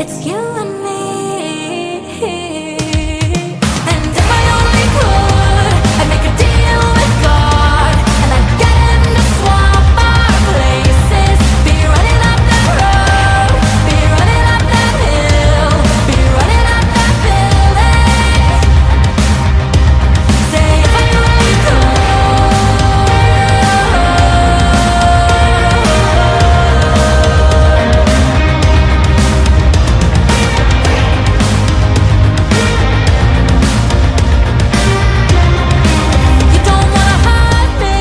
It's you and me. And if I only could, I'd make a deal with God, and I'd get him to swap our places. Be running up that road, be running up that hill, be running up that building. Say if I only You don't wanna hurt me,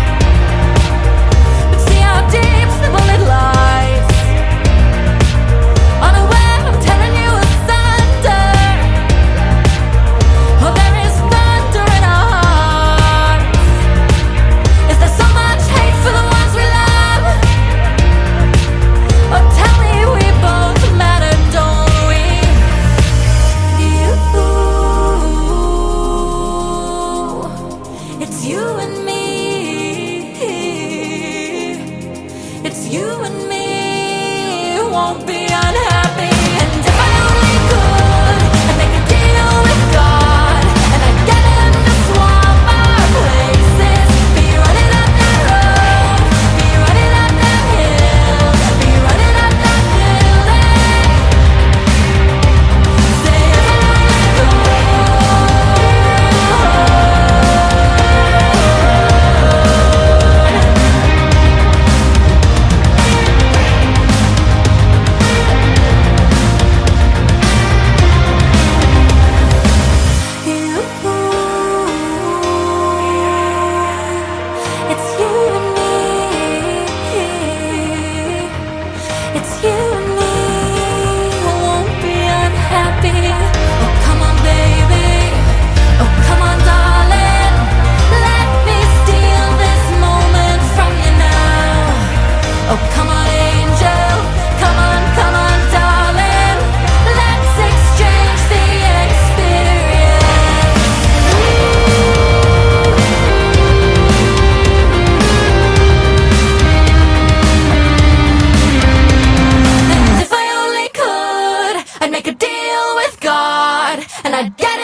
but see how deep the bullet lies. Unaware, I'm tearing you asunder. Oh, there is thunder in our hearts. Is there so much hate for the ones we love? Oh, tell me we both matter, don't we? It's you and me. It's you and me. Won't be unhappy. And if I only could, I'd make a deal with God, and I'd get him to swap our places. Be running up that road, be running up that hill, be running up that building. Say if I only It's you and me. It's you and me. Won't be unhappy. Oh, come on, baby. Oh, come on, darling. Let me steal this moment from you now. Oh, come on, angel. Come on, darling. Let's exchange the experience. And if I only could, I'd make a deal with God, and I'd get